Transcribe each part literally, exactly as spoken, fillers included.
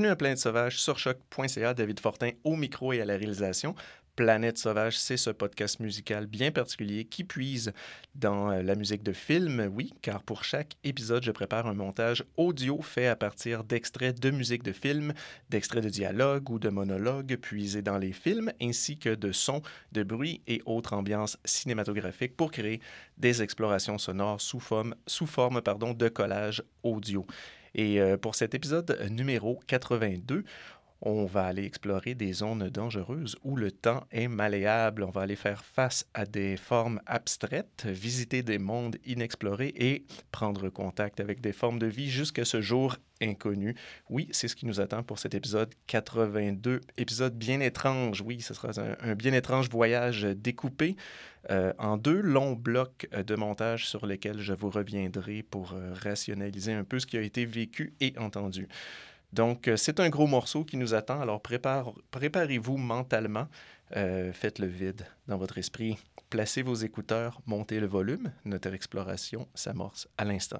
Bienvenue à Planète Sauvage sur choc point c a. David Fortin au micro et à la réalisation. Planète Sauvage, c'est ce podcast musical bien particulier qui puise dans la musique de film, oui, car pour chaque épisode, je prépare un montage audio fait à partir d'extraits de musique de film, d'extraits de dialogues ou de monologues puisés dans les films, ainsi que de sons, de bruits et autres ambiances cinématographiques pour créer des explorations sonores sous forme, sous forme pardon, de collage audio. Et euh, pour cet épisode numéro quatre-vingt-deux, on va aller explorer des zones dangereuses où le temps est malléable. On va aller faire face à des formes abstraites, visiter des mondes inexplorés et prendre contact avec des formes de vie jusqu'à ce jour inconnu. Oui, c'est ce qui nous attend pour cet épisode quatre-vingt-deux. Épisode bien étrange. Oui, ce sera un, un bien étrange voyage découpé euh, en deux longs blocs de montage sur lesquels je vous reviendrai pour euh, rationaliser un peu ce qui a été vécu et entendu. Donc, c'est un gros morceau qui nous attend, alors prépare, préparez-vous mentalement, euh, faites le vide dans votre esprit, placez vos écouteurs, montez le volume, notre exploration s'amorce à l'instant.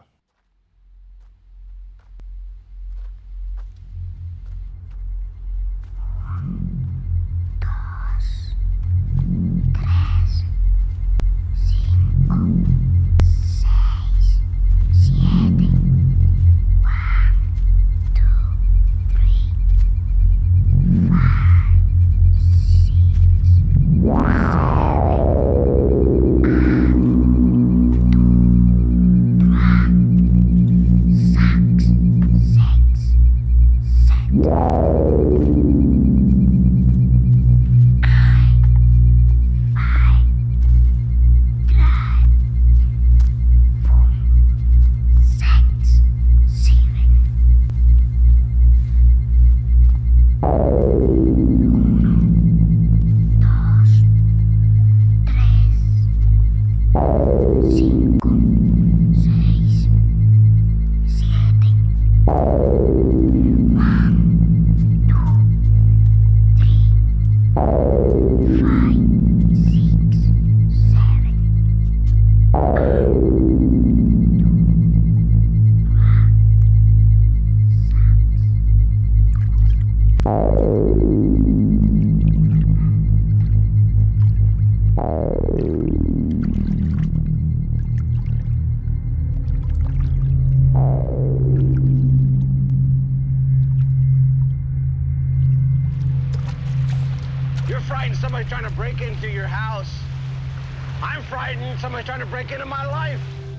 Somebody's trying to break into your house. I'm frightened somebody's trying to break into my life.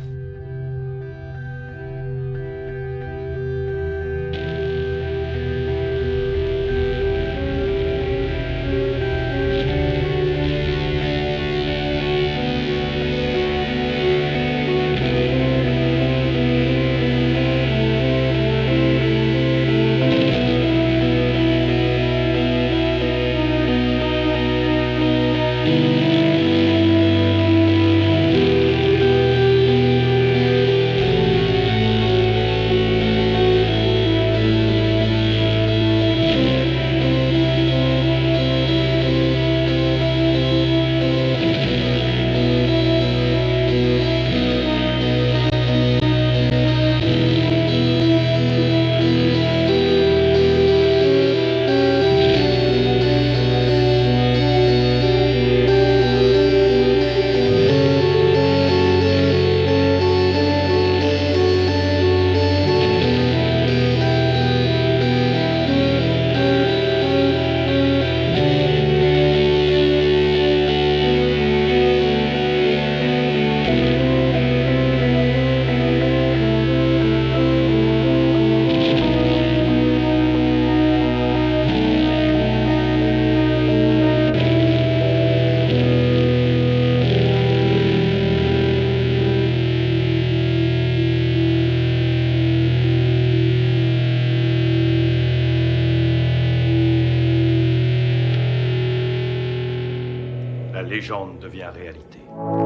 La légende devient réalité.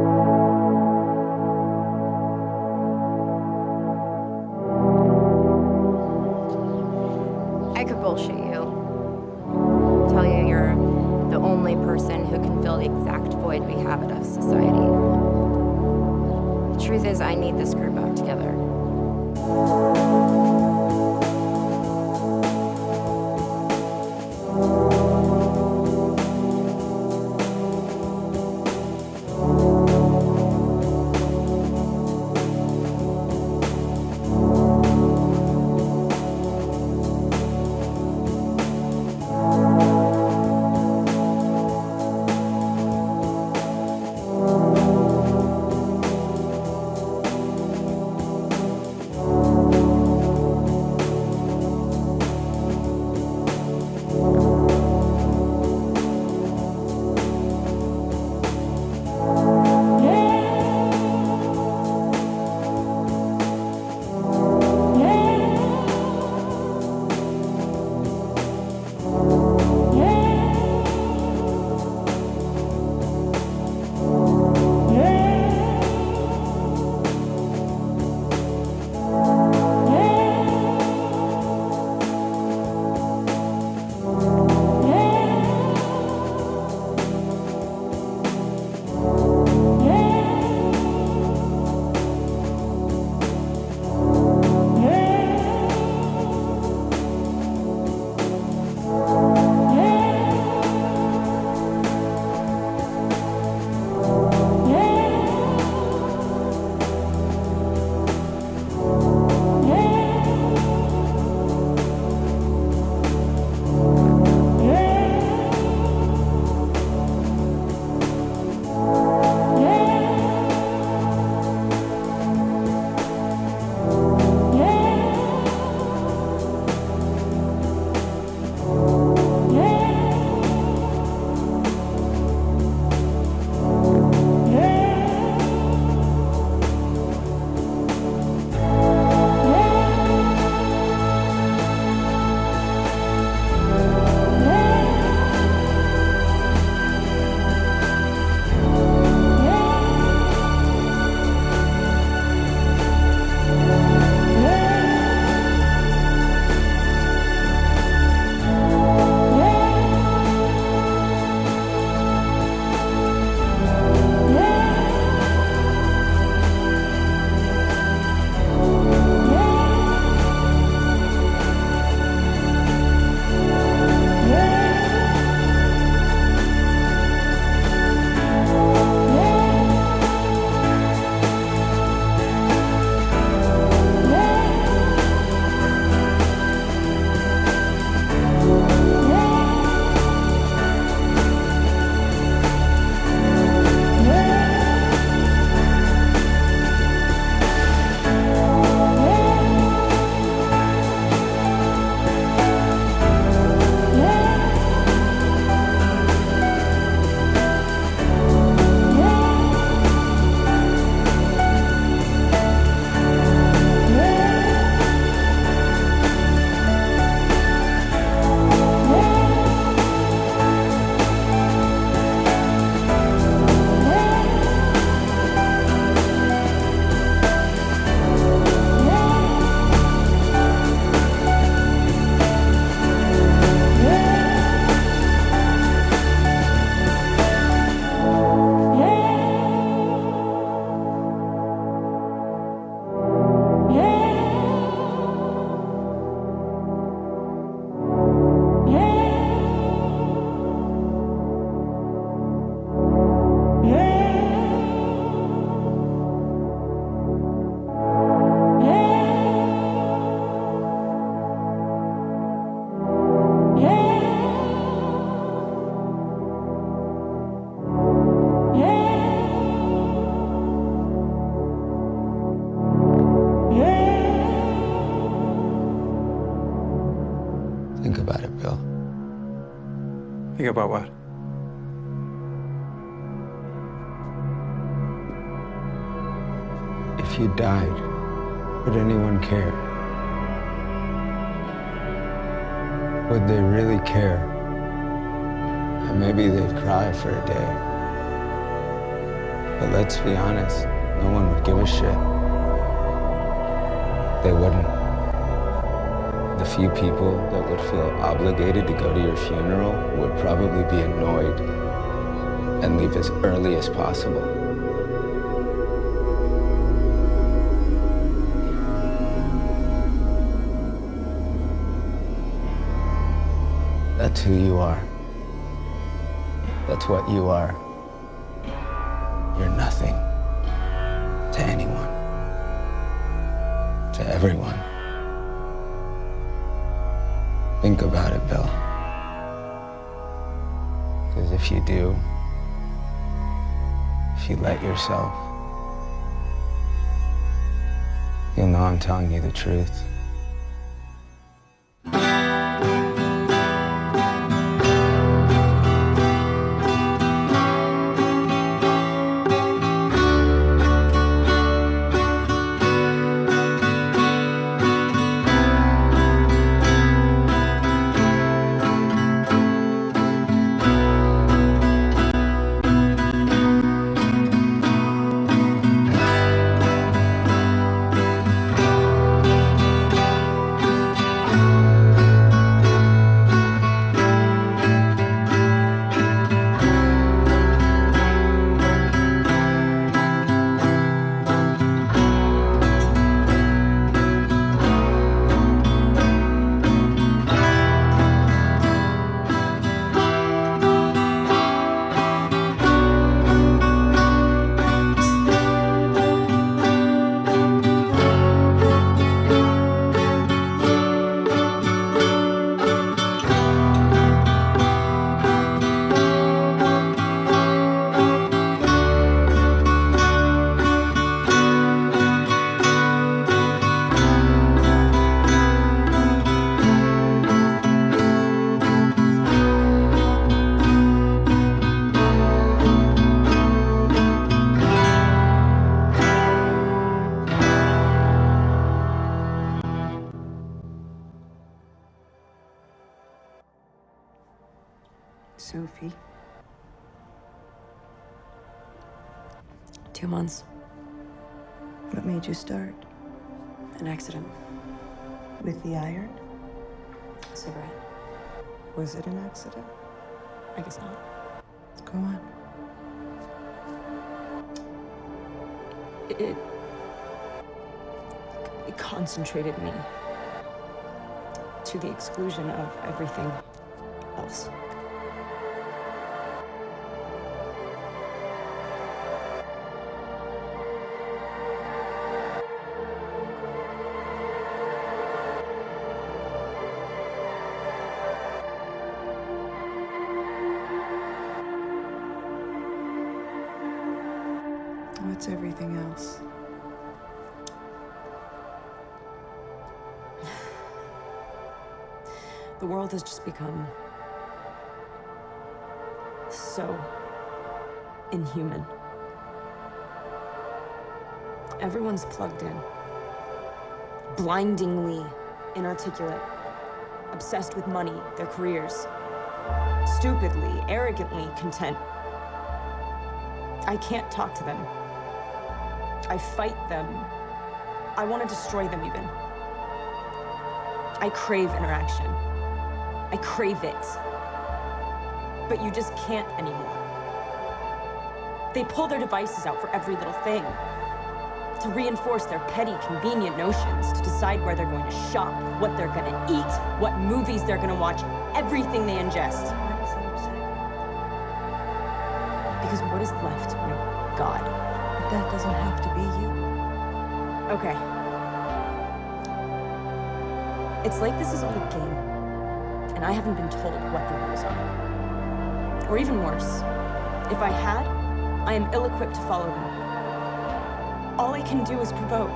I could bullshit you. Tell you you're the only person who can fill the exact void we have out of society. The truth is, I need this group back together. Think about what? If you died, would anyone care? Would they really care? And maybe they'd cry for a day. But let's be honest, no one would give a shit. They wouldn't. The few people that would feel obligated to go to your funeral would probably be annoyed and leave as early as possible. That's who you are. That's what you are. You're nothing to anyone, to everyone. Think about it, Bill. Because if you do, if you let yourself, you'll know I'm telling you the truth. Sophie. Two months. What made you start? An accident. With the iron? A cigarette. Was it an accident? I guess not. Go on. It... It concentrated me to the exclusion of everything else. What's everything else? The world has just become so inhuman. Everyone's plugged in, blindingly inarticulate, obsessed with money, their careers, stupidly, arrogantly content. I can't talk to them. I fight them. I want to destroy them even. I crave interaction. I crave it. But you just can't anymore. They pull their devices out for every little thing. To reinforce their petty, convenient notions, to decide where they're going to shop, what they're going to eat, what movies they're going to watch, everything they ingest. Because what is left, my God? But that doesn't have to be you. Okay. It's like this is all a game, and I haven't been told what the rules are. Or even worse, if I had, I am ill-equipped to follow them. All I can do is provoke.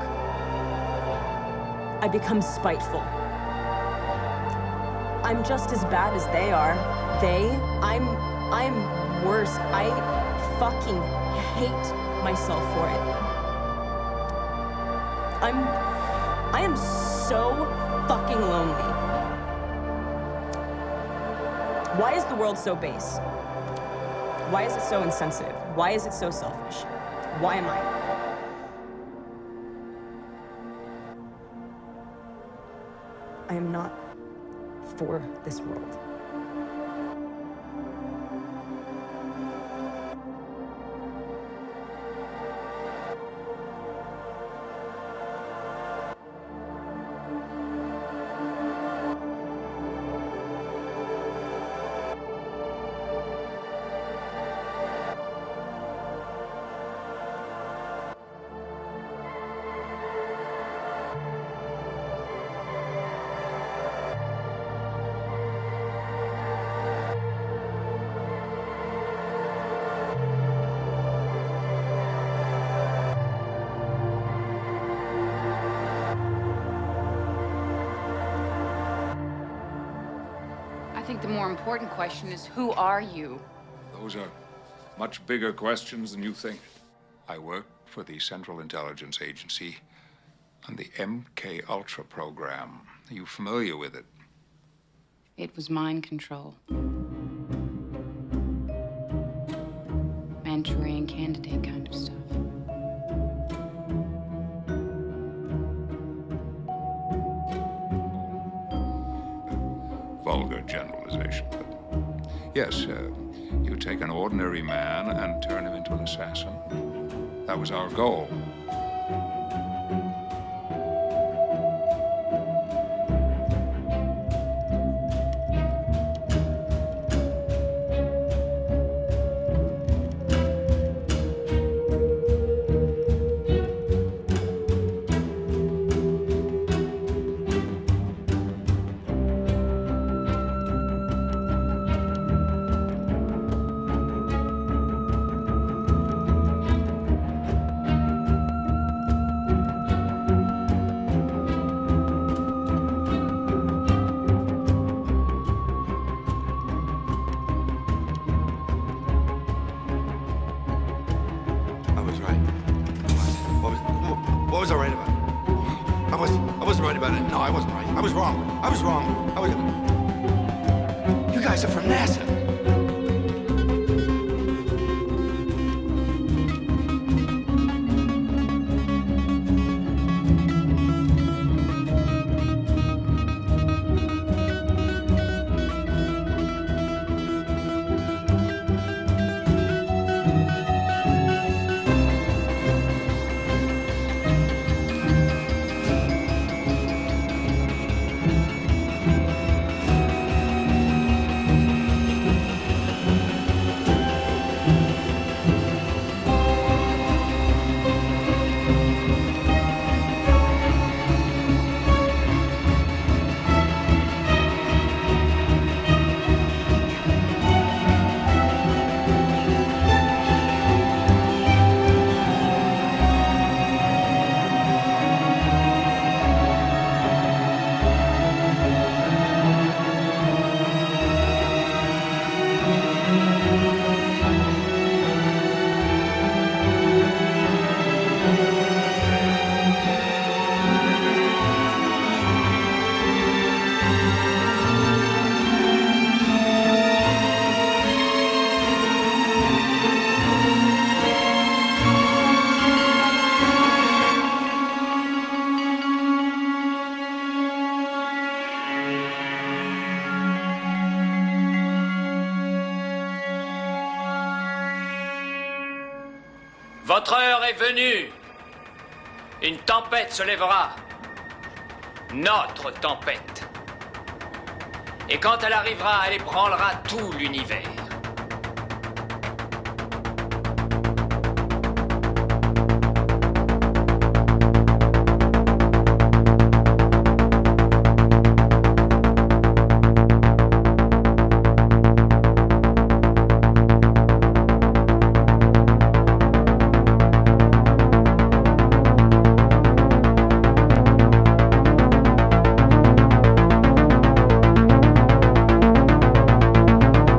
I become spiteful. I'm just as bad as they are. They, I'm, I'm worse. I fucking hate myself for it. I'm, I am so fucking lonely. Why is the world so base? Why is it so insensitive? Why is it so selfish? Why am I? I am not for this world. I think the more important question is, who are you? Those are much bigger questions than you think. I work for the Central Intelligence Agency on the M K Ultra program. Are you familiar with it? It was mind control. Manchurian candidate kind of stuff. Vulgar generalization, but yes, uh, you take an ordinary man and turn him into an assassin. That was our goal. Votre heure est venue. Une tempête se lèvera. Notre tempête. Et quand elle arrivera, elle ébranlera tout l'univers. Thank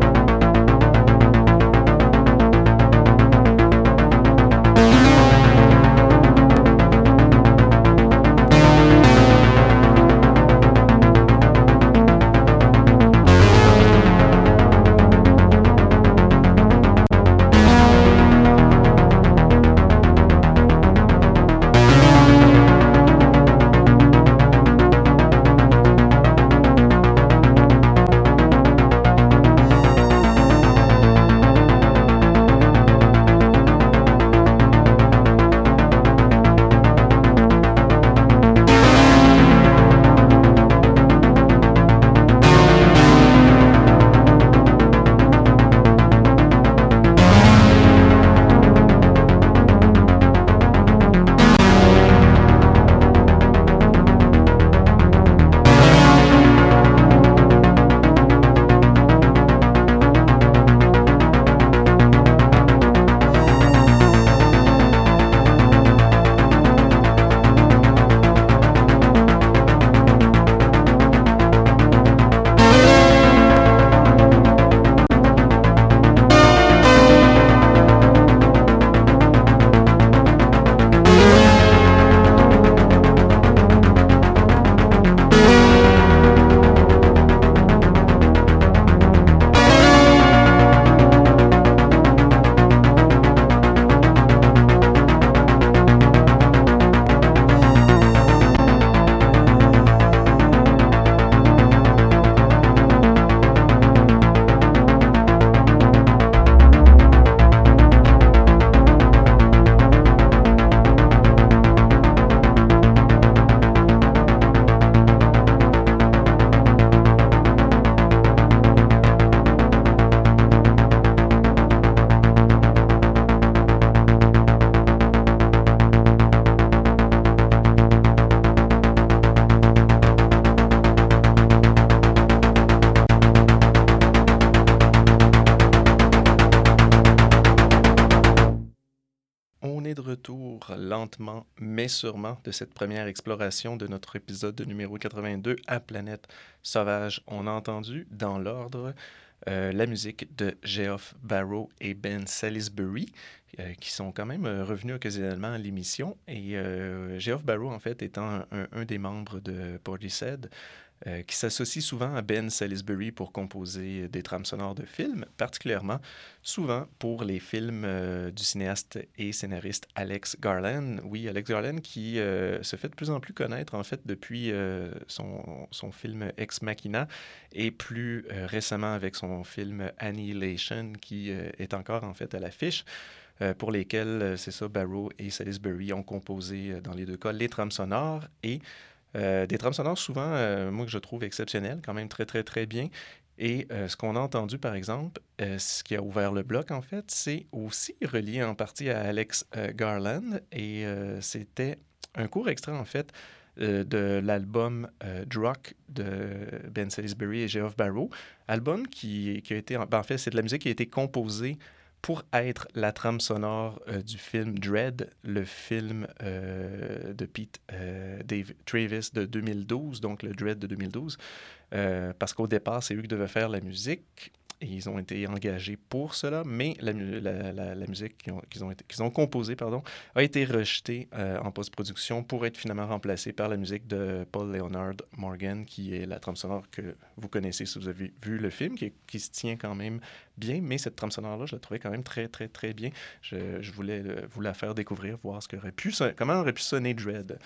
est de retour lentement mais sûrement de cette première exploration de notre épisode numéro quatre-vingt-deux à Planète Sauvage. On a entendu dans l'ordre euh, la musique de Geoff Barrow et Ben Salisbury euh, qui sont quand même euh, revenus occasionnellement à l'émission. Et euh, Geoff Barrow, en fait, étant un, un, un des membres de Portishead, Euh, qui s'associe souvent à Ben Salisbury pour composer des trames sonores de films, particulièrement souvent pour les films euh, du cinéaste et scénariste Alex Garland. Oui, Alex Garland qui euh, se fait de plus en plus connaître en fait depuis euh, son, son film Ex Machina et plus euh, récemment avec son film Annihilation qui euh, est encore en fait à l'affiche. Euh, pour lesquels, euh, c'est ça, Barrow et Salisbury ont composé euh, dans les deux cas les trames sonores et Euh, des trames sonores souvent, euh, moi, que je trouve exceptionnelles, quand même très, très, très bien. Et euh, ce qu'on a entendu, par exemple, euh, ce qui a ouvert le bloc, en fait, c'est aussi relié en partie à Alex euh, Garland. Et euh, c'était un court extrait, en fait, euh, de l'album euh, Druck de Ben Salisbury et Geoff Barrow. Album qui, qui a été... En, ben, en fait, c'est de la musique qui a été composée pour être la trame sonore euh, du film Dread, le film euh, de Pete euh, Dave Travis de deux mille douze, donc le Dread de deux mille douze, euh, parce qu'au départ, c'est eux qui devaient faire la musique. Et ils ont été engagés pour cela, mais la, la, la, la musique qu'ils ont, qu'ils ont, été, qu'ils ont composée pardon, a été rejetée euh, en post-production pour être finalement remplacée par la musique de Paul Leonard Morgan, qui est la trame sonore que vous connaissez si vous avez vu le film, qui, qui se tient quand même bien, mais cette trame sonore-là, je la trouvais quand même très, très, très bien. Je, je voulais euh, vous la faire découvrir, voir ce qu'aurait pu, comment aurait pu sonner Dread.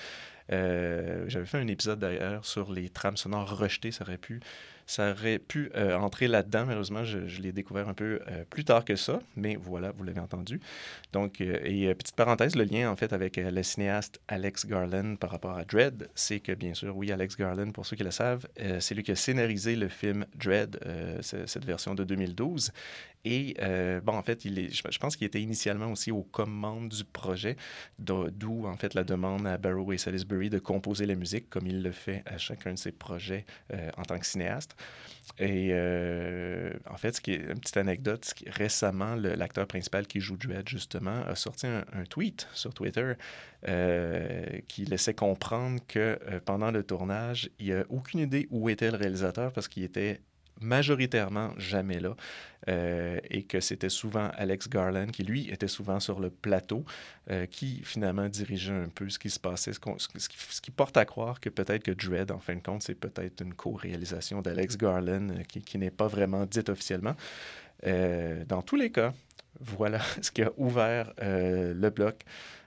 Euh, j'avais fait un épisode d'ailleurs sur les trames sonores rejetées, ça aurait pu... Ça aurait pu euh, entrer là-dedans. Malheureusement, je, je l'ai découvert un peu euh, plus tard que ça, mais voilà, vous l'avez entendu. Donc, euh, et euh, petite parenthèse, le lien en fait avec euh, le cinéaste Alex Garland par rapport à Dread, c'est que bien sûr, oui, Alex Garland, pour ceux qui le savent, euh, c'est lui qui a scénarisé le film Dread, euh, cette version de deux mille douze. Et euh, bon, en fait, il est, je, je pense qu'il était initialement aussi aux commandes du projet, d'où en fait la demande à Barrow et Salisbury de composer la musique, comme il le fait à chacun de ses projets euh, en tant que cinéaste. Et euh, en fait, ce qui est une petite anecdote, c'est que récemment, le, l'acteur principal qui joue Dread, justement, a sorti un, un tweet sur Twitter euh, qui laissait comprendre que euh, pendant le tournage, il n'a aucune idée où était le réalisateur parce qu'il était majoritairement jamais là euh, et que c'était souvent Alex Garland qui, lui, était souvent sur le plateau euh, qui, finalement, dirigeait un peu ce qui se passait, ce, ce, qui, ce qui porte à croire que peut-être que Dread, en fin de compte, c'est peut-être une co-réalisation d'Alex Garland euh, qui, qui n'est pas vraiment dite officiellement. Euh, dans tous les cas, voilà ce qui a ouvert euh, le bloc.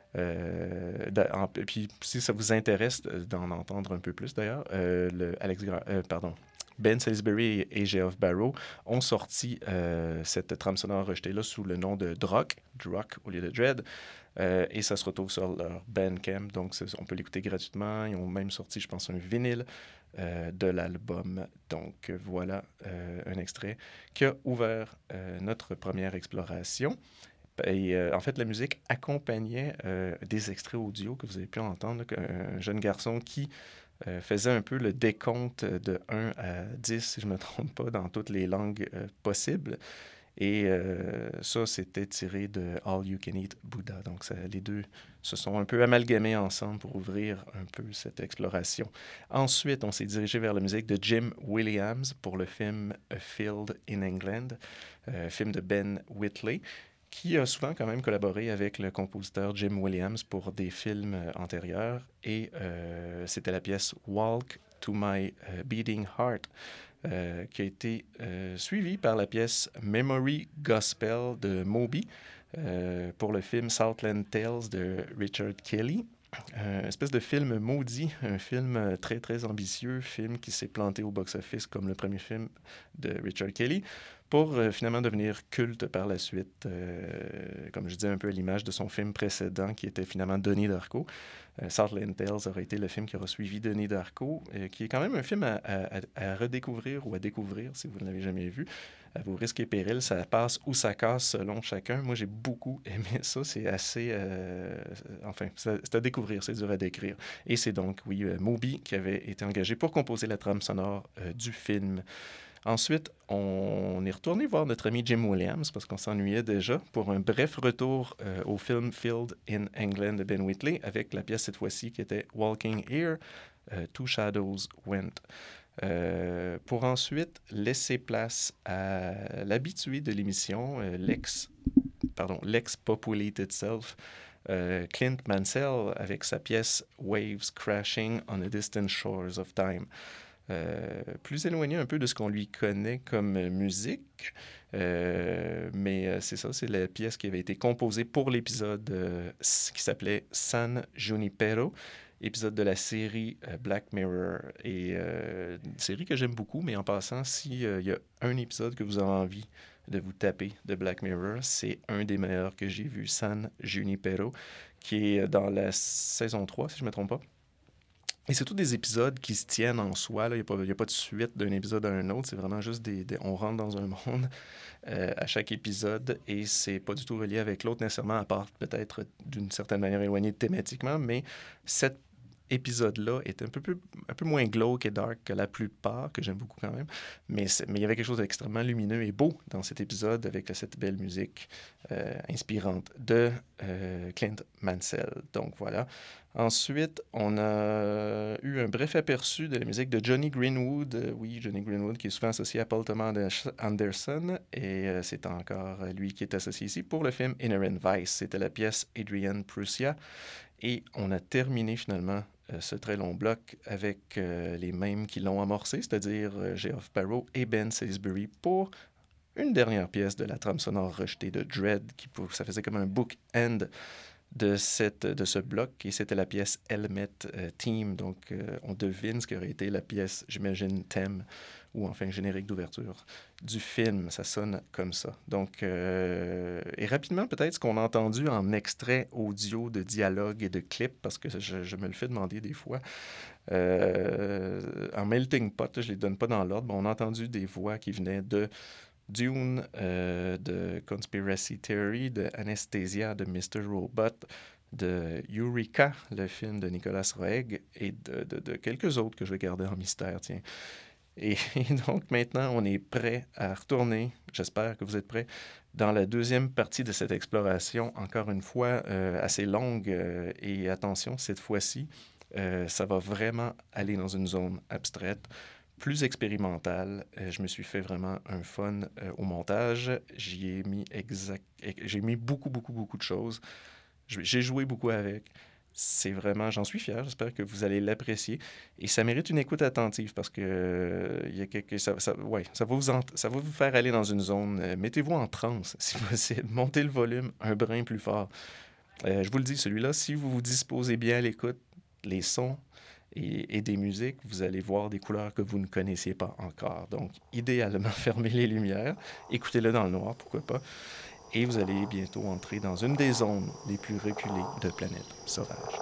Euh, en, puis, si ça vous intéresse d'en entendre un peu plus, d'ailleurs, euh, le Alex Gar- euh, pardon, Ben Salisbury et Geoff Barrow ont sorti euh, cette trame sonore rejetée-là sous le nom de Druck, Druck au lieu de Dread, euh, et ça se retrouve sur leur Bandcamp, donc on peut l'écouter gratuitement. Ils ont même sorti, je pense, un vinyle euh, de l'album. Donc voilà euh, un extrait qui a ouvert euh, notre première exploration. Et euh, en fait, la musique accompagnait euh, des extraits audio que vous avez pu entendre, un jeune garçon qui Euh, faisait un peu le décompte de un à dix, si je ne me trompe pas, dans toutes les langues euh, possibles. Et euh, ça, c'était tiré de All You Can Eat Buddha. Donc, ça, les deux se sont un peu amalgamés ensemble pour ouvrir un peu cette exploration. Ensuite, on s'est dirigé vers la musique de Jim Williams pour le film A Field in England, euh, film de Ben Whitley, qui a souvent quand même collaboré avec le compositeur Jim Williams pour des films euh, antérieurs. Et euh, c'était la pièce Walk to My uh, Beating Heart, euh, qui a été euh, suivie par la pièce Memory Gospel de Moby euh, pour le film Southland Tales de Richard Kelly. Euh, une espèce de film maudit, un film très, très ambitieux, film qui s'est planté au box-office comme le premier film de Richard Kelly, pour euh, finalement devenir culte par la suite, euh, comme je disais, un peu à l'image de son film précédent, qui était finalement Donnie Darko. Euh, Southland Tales aurait été le film qui aura suivi Donnie Darko, euh, qui est quand même un film à, à, à redécouvrir ou à découvrir, si vous ne l'avez jamais vu. À vos risques et périls, ça passe ou ça casse selon chacun. Moi, j'ai beaucoup aimé ça. C'est assez... Euh, enfin, c'est à découvrir, c'est dur à décrire. Et c'est donc, oui, euh, Moby qui avait été engagé pour composer la trame sonore euh, du film. Ensuite, on est retourné voir notre ami Jim Williams parce qu'on s'ennuyait déjà pour un bref retour euh, au film Field in England de Ben Wheatley avec la pièce cette fois-ci qui était Walking Here, euh, Two Shadows Went. Euh, pour ensuite laisser place à l'habitué de l'émission, euh, l'ex, pardon, l'ex-Populated Self, euh, Clint Mansell avec sa pièce Waves Crashing on the Distant Shores of Time. Euh, plus éloigné un peu de ce qu'on lui connaît comme musique, euh, mais euh, c'est ça, c'est la pièce qui avait été composée pour l'épisode euh, qui s'appelait San Junipero, épisode de la série euh, Black Mirror, et euh, une série que j'aime beaucoup, mais en passant, s'il euh, y a un épisode que vous avez envie de vous taper de Black Mirror, c'est un des meilleurs que j'ai vu, San Junipero, qui est dans la saison trois, si je ne me trompe pas. Et c'est tous des épisodes qui se tiennent en soi. Il n'y a, a pas de suite d'un épisode à un autre. C'est vraiment juste des, des... On rentre dans un monde euh, à chaque épisode et c'est pas du tout relié avec l'autre nécessairement, à part peut-être d'une certaine manière éloigné thématiquement. Mais cet épisode-là est un peu, plus, un peu moins glauque et dark que la plupart, que j'aime beaucoup quand même. Mais, mais il y avait quelque chose d'extrêmement lumineux et beau dans cet épisode avec cette belle musique euh, inspirante de euh, Clint Mansell. Donc voilà. Ensuite, on a eu un bref aperçu de la musique de Johnny Greenwood. Euh, oui, Johnny Greenwood, qui est souvent associé à Paul Thomas Anderson. Et euh, c'est encore lui qui est associé ici pour le film Inherent Vice. C'était la pièce Adrian Prussia. Et on a terminé finalement euh, ce très long bloc avec euh, les mêmes qui l'ont amorcé, c'est-à-dire euh, Geoff Barrow et Ben Salisbury pour une dernière pièce de la trame sonore rejetée de Dread, qui pour, ça faisait comme un book-end de, cette, de ce bloc, et c'était la pièce Helmet euh, Team. Donc, euh, on devine ce qu'aurait été la pièce, j'imagine, thème, ou enfin générique d'ouverture du film. Ça sonne comme ça. Donc, euh, et rapidement, peut-être ce qu'on a entendu en extrait audio de dialogue et de clip, parce que je, je me le fais demander des fois. Euh, en melting pot, je ne les donne pas dans l'ordre. Bon, on a entendu des voix qui venaient de Dune, euh, de Conspiracy Theory, de Anesthesia, de mister Robot, de Eureka, le film de Nicolas Roeg, et de, de, de quelques autres que je vais garder en mystère, tiens. Et, et donc, maintenant, on est prêt à retourner, j'espère que vous êtes prêts, dans la deuxième partie de cette exploration, encore une fois, euh, assez longue. Euh, et attention, cette fois-ci, euh, ça va vraiment aller dans une zone abstraite, plus expérimentale. Euh, je me suis fait vraiment un fun euh, au montage. J'y ai mis exact... J'ai mis beaucoup, beaucoup, beaucoup de choses. J'ai joué beaucoup avec. C'est vraiment... J'en suis fier. J'espère que vous allez l'apprécier. Et ça mérite une écoute attentive parce que euh, il y a quelque... ça, ça, ouais, ça, va vous en... ça va vous faire aller dans une zone... Euh, mettez-vous en transe, si possible. Montez le volume un brin plus fort. Euh, je vous le dis, celui-là, si vous vous disposez bien à l'écoute, les sons... Et, et des musiques, vous allez voir des couleurs que vous ne connaissiez pas encore. Donc, idéalement, fermez les lumières, écoutez-le dans le noir, pourquoi pas, et vous allez bientôt entrer dans une des zones les plus reculées de Planète Sauvage.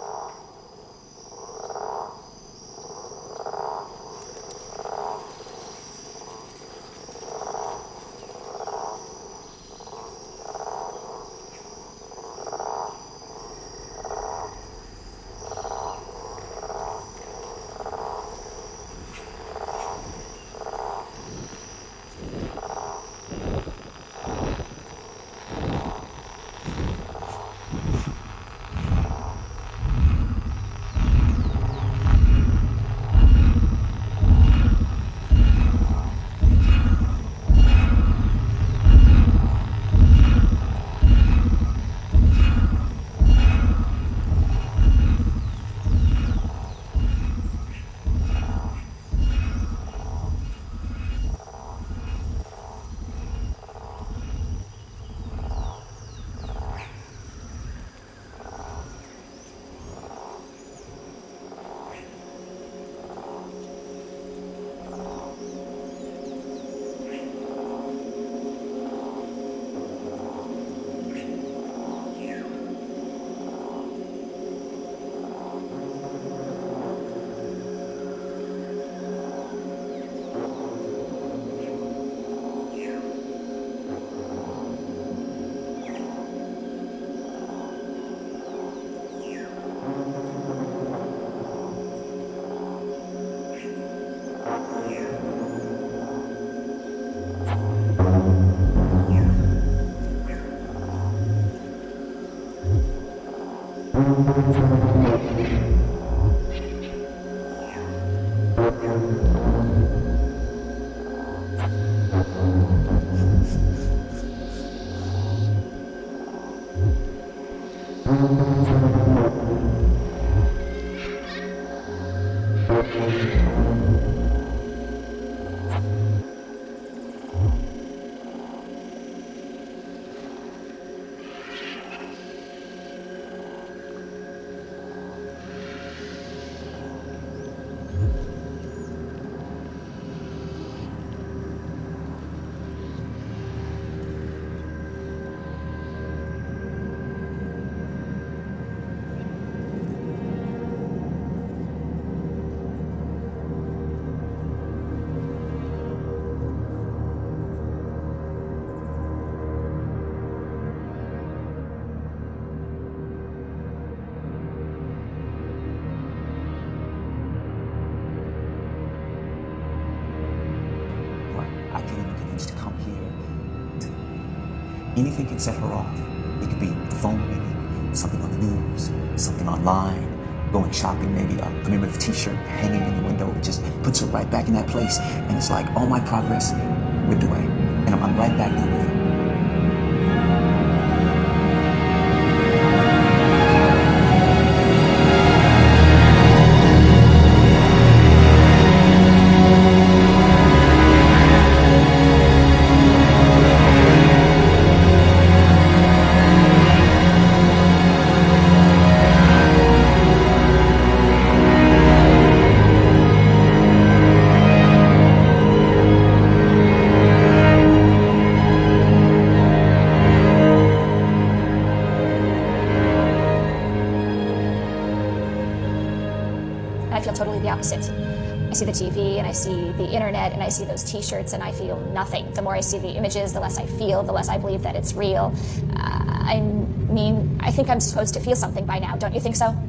I can't even convince to come here. Anything can set her off. It could be the phone ringing, something on the news, something online, going shopping, maybe a commemorative t-shirt hanging in the window. It just puts her right back in that place. And it's like all my progress ripped away. And I'm, I'm right back there with her. I feel totally the opposite. I see the T V and I see the internet and I see those t-shirts and I feel nothing. The more I see the images, the less I feel, the less I believe that it's real. Uh, I mean, I think I'm supposed to feel something by now, don't you think so?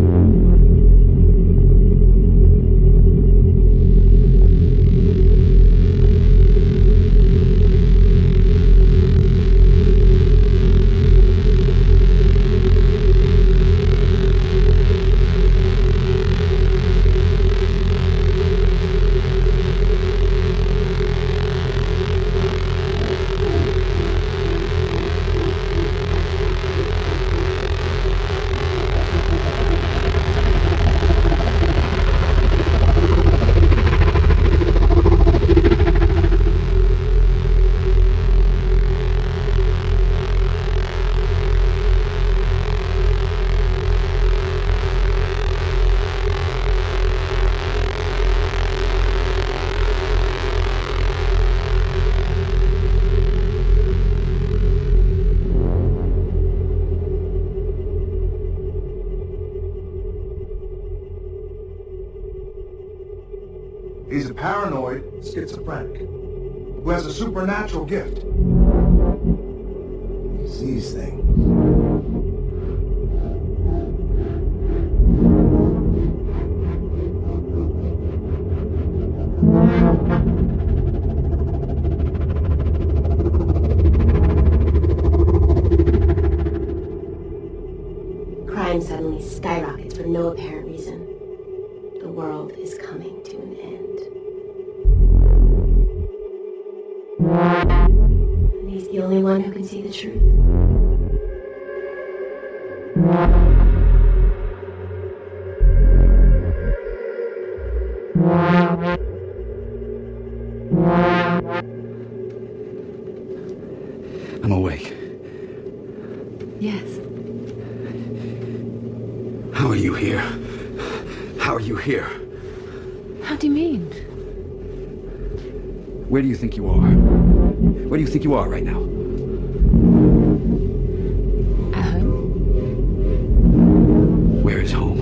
He's a paranoid schizophrenic who has a supernatural gift. He sees things. Crime suddenly skyrockets for no apparent reason. The world is coming to an end. And he's the only one who can see the truth. I'm awake. Yes. How are you here? How are you here? How do you mean? Where do you think you are? Where do you think you are right now? At home. Where is home?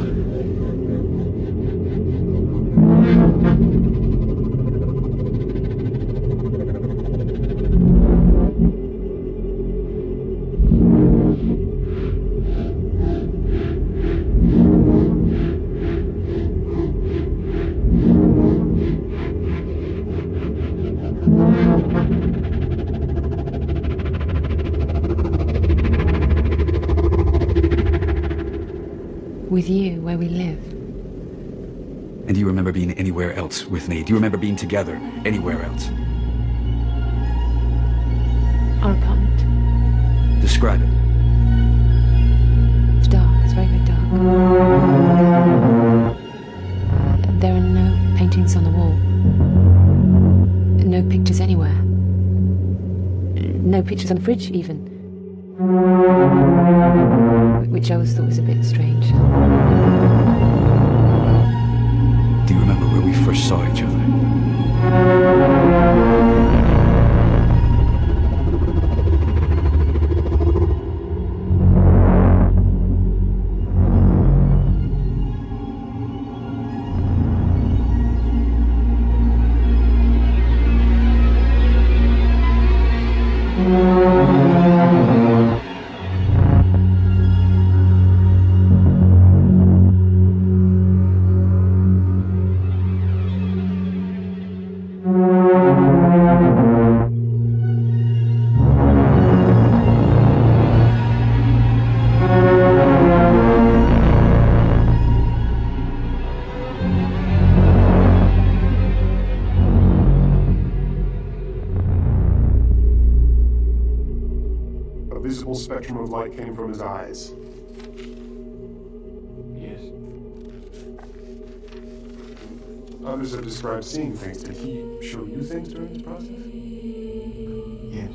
With you, where we live. And do you remember being anywhere else with me? Do you remember being together anywhere else? Our apartment. Describe it. It's dark. It's very, very dark. There are no paintings on the wall. No pictures anywhere. No pictures on the fridge, even. Which I always thought was a bit strange. Do you remember where we first saw each other? Spectrum of light came from his eyes. Yes. Others have described seeing things. Did he show you things during this process? Yes.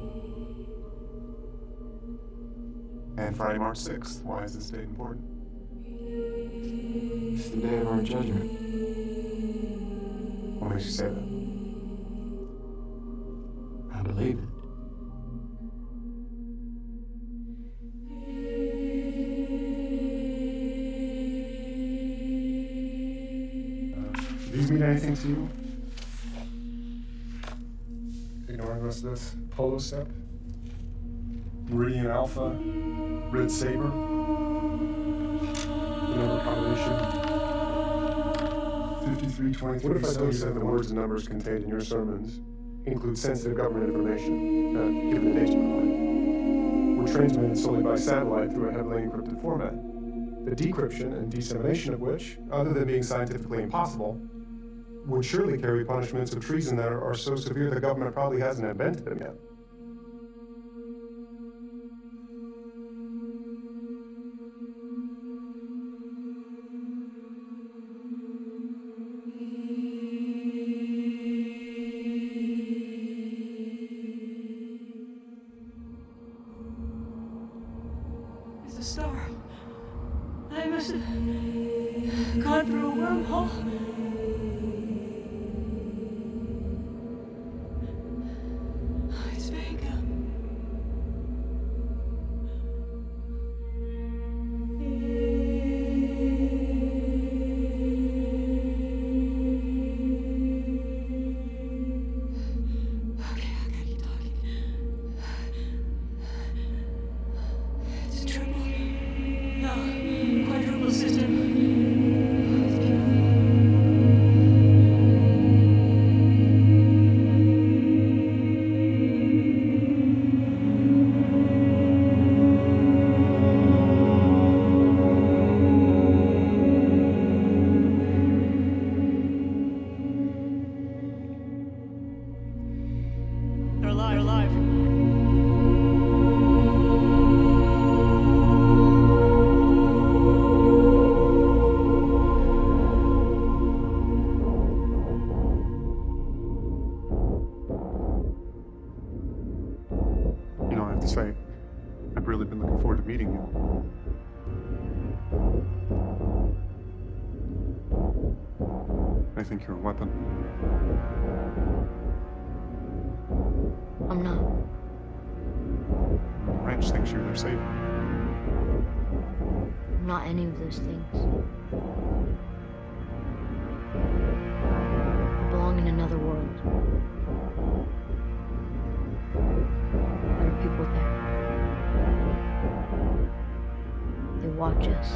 And Friday, March sixth. Why is this date important? It's the day of our judgment. What makes you say that? I believe it. These mean anything to you? Ignoring the rest of this. Polo Step? Meridian Alpha? Red Saber? The number combination? fifty-three twenty-three. What if I told you that the words and numbers contained in your sermons include sensitive government information, uh, given the nature of the were transmitted solely by satellite through a heavily encrypted format? The decryption and dissemination of which, other than being scientifically impossible, would surely carry punishments of treason that are, are so severe the government probably hasn't invented them yet. It's a star. I must have gone through a wormhole. I think you're a weapon. I'm not. The ranch thinks you're their savior. I'm not any of those things. I belong in another world. There are people there. They watch us.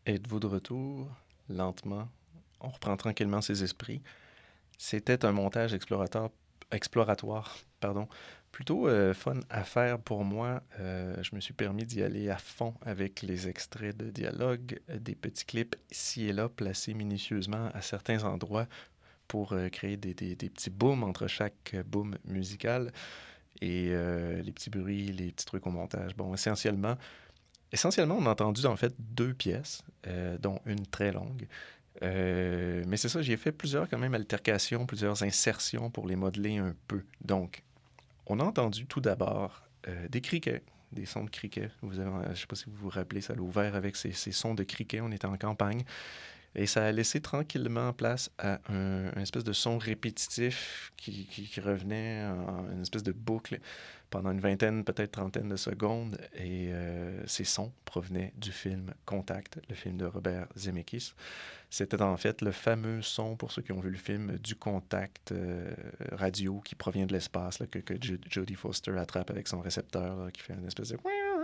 Êtes-vous de retour? Lentement, on reprend tranquillement ses esprits. C'était un montage explorateur, exploratoire, pardon, plutôt euh, fun à faire pour moi. Euh, je me suis permis d'y aller à fond avec les extraits de dialogue, euh, des petits clips ici et là placés minutieusement à certains endroits pour euh, créer des, des, des petits booms entre chaque euh, boom musical et euh, les petits bruits, les petits trucs au montage. Bon, essentiellement... Essentiellement, on a entendu en fait deux pièces, euh, dont une très longue. Euh, mais c'est ça, j'ai fait plusieurs quand même altercations, plusieurs insertions pour les modeler un peu. Donc, on a entendu tout d'abord euh, des criquets, des sons de criquets. Vous avez, je ne sais pas si vous vous rappelez, ça l'a ouvert avec ces, ces sons de criquets. On était en campagne. Et ça a laissé tranquillement place à un, un espèce de son répétitif qui, qui, qui revenait en une espèce de boucle pendant une vingtaine, peut-être trentaine de secondes. Et euh, ces sons provenaient du film Contact, le film de Robert Zemeckis. C'était en fait le fameux son, pour ceux qui ont vu le film, du contact euh, radio qui provient de l'espace, là, que, que Jodie Foster attrape avec son récepteur, là, qui fait une espèce de...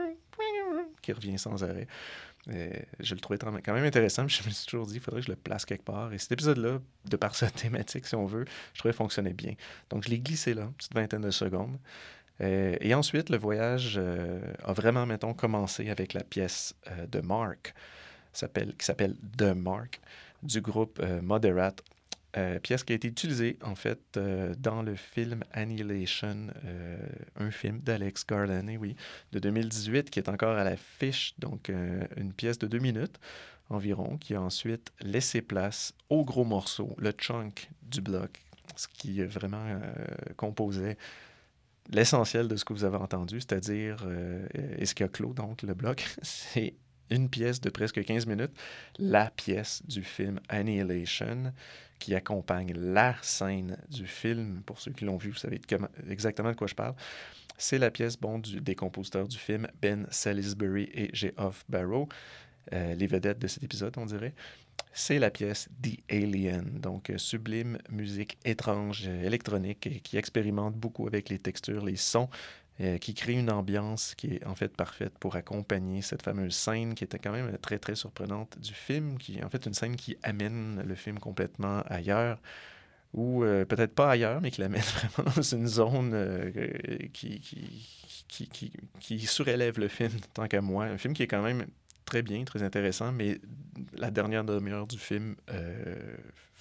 qui revient sans arrêt. Et je le trouvais quand même intéressant, mais je me suis toujours dit qu'il faudrait que je le place quelque part. Et cet épisode-là, de par sa thématique, si on veut, je trouvais fonctionnait bien. Donc, je l'ai glissé là, une petite vingtaine de secondes. Euh, et ensuite, le voyage euh, a vraiment, mettons, commencé avec la pièce euh, de Mark, s'appelle, qui s'appelle The Mark, du groupe euh, Moderate. Euh, pièce qui a été utilisée, en fait, euh, dans le film Annihilation, euh, un film d'Alex Garland, et oui, de deux mille dix-huit, qui est encore à l'affiche, donc euh, une pièce de deux minutes environ, qui a ensuite laissé place au gros morceau, le chunk du bloc, ce qui vraiment euh, composait l'essentiel de ce que vous avez entendu, c'est-à-dire, euh, et ce qui a clos, donc, le bloc, c'est une pièce de presque quinze minutes, la pièce du film Annihilation, qui accompagne la scène du film. Pour ceux qui l'ont vu, vous savez exactement de quoi je parle. C'est la pièce bon, du, des compositeurs du film, Ben Salisbury et Geoff Barrow, euh, les vedettes de cet épisode, on dirait. C'est la pièce The Alien, donc euh, sublime musique étrange, euh, électronique, et qui expérimente beaucoup avec les textures, les sons, euh, qui crée une ambiance qui est en fait parfaite pour accompagner cette fameuse scène qui était quand même très, très surprenante du film, qui est en fait une scène qui amène le film complètement ailleurs, ou euh, peut-être pas ailleurs, mais qui l'amène vraiment dans une zone euh, qui, qui, qui, qui, qui surélève le film, tant qu'à moi. Un film qui est quand même très bien, très intéressant, mais la dernière demi-heure du film, euh,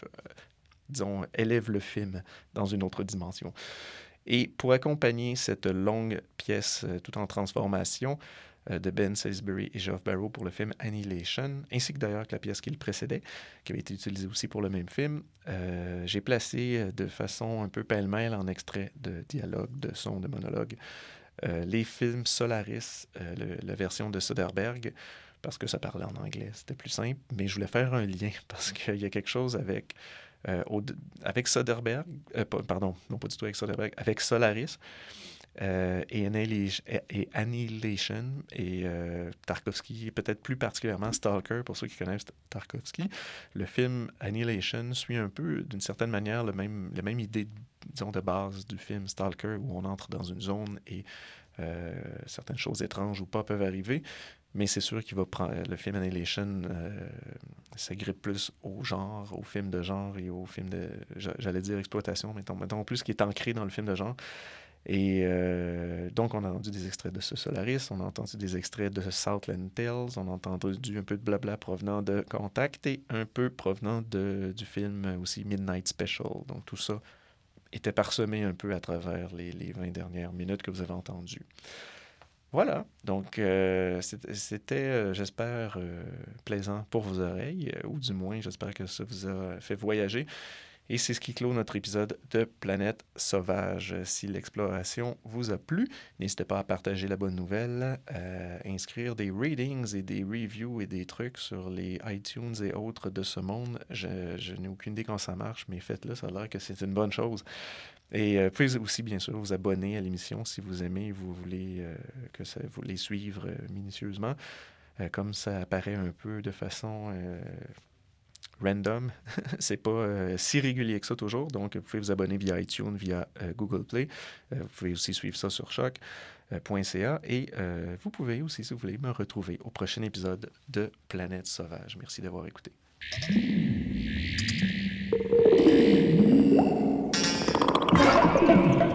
disons, élève le film dans une autre dimension. Et pour accompagner cette longue pièce euh, tout en transformation euh, de Ben Salisbury et Geoff Barrow pour le film Annihilation, ainsi que d'ailleurs que la pièce qui le précédait, qui avait été utilisée aussi pour le même film, euh, j'ai placé de façon un peu pêle-mêle en extrait de dialogue, de son, de monologue, euh, les films Solaris, euh, le, la version de Soderbergh, parce que ça parlait en anglais, c'était plus simple, mais je voulais faire un lien parce qu'il y a quelque chose avec... Euh, au, avec Soderbergh, euh, pardon, non pas du tout avec Soderbergh, avec Solaris euh, et, Annihilation, et Annihilation et euh, Tarkovsky, et peut-être plus particulièrement Stalker, pour ceux qui connaissent Tarkovsky. Le film Annihilation suit un peu, d'une certaine manière, le même, la même idée, disons, de base du film Stalker, où on entre dans une zone et euh, certaines choses étranges ou pas peuvent arriver. Mais c'est sûr qu'il va prendre le film Annihilation, euh, s'agrippe plus au genre, au film de genre et au film de, j'allais dire exploitation, mais mettons plus qui est ancré dans le film de genre. Et euh, donc, on a entendu des extraits de ce Solaris, on a entendu des extraits de Southland Tales, on a entendu un peu de blabla provenant de Contact et un peu provenant de, du film aussi Midnight Special. Donc, tout ça était parsemé un peu à travers les, les vingt dernières minutes que vous avez entendues. Voilà, donc euh, c'était, euh, j'espère, euh, plaisant pour vos oreilles, euh, ou du moins, j'espère que ça vous a fait voyager. Et c'est ce qui clôt notre épisode de Planète Sauvage. Si l'exploration vous a plu, n'hésitez pas à partager la bonne nouvelle, à inscrire des ratings et des reviews et des trucs sur les iTunes et autres de ce monde. Je, je n'ai aucune idée quand ça marche, mais faites-le, ça a l'air que c'est une bonne chose. Et euh, pouvez aussi, bien sûr, vous abonner à l'émission si vous aimez et vous voulez euh, que ça, vous les suivre euh, minutieusement. Euh, comme ça apparaît un peu de façon euh, random, c'est pas euh, si régulier que ça toujours. Donc, vous pouvez vous abonner via iTunes, via euh, Google Play. Euh, vous pouvez aussi suivre ça sur Choc. .ca et euh, vous pouvez aussi, si vous voulez, me retrouver au prochain épisode de Planète Sauvage. Merci d'avoir écouté. Thank you.